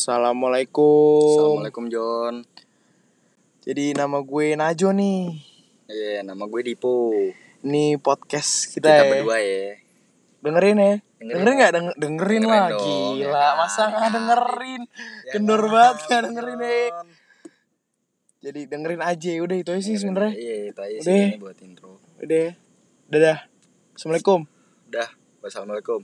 Assalamualaikum. Assalamualaikum John. Jadi nama gue Najo nih. Iya, nama gue Dipo. Ini podcast kita ya. Berdua ya. Dengerin ya. Dengerin nggak? Dengerin lah. Dong. Gila, Ya, masa nggak dengerin? Ya, Kendor banget nggak dengerin deh. Jadi dengerin aja. Udah itu aja sih sebenarnya. Iya, itu aja Udah. sih ini buat intro. Udah. Dadah. Assalamualaikum. Udah. Wassalamualaikum.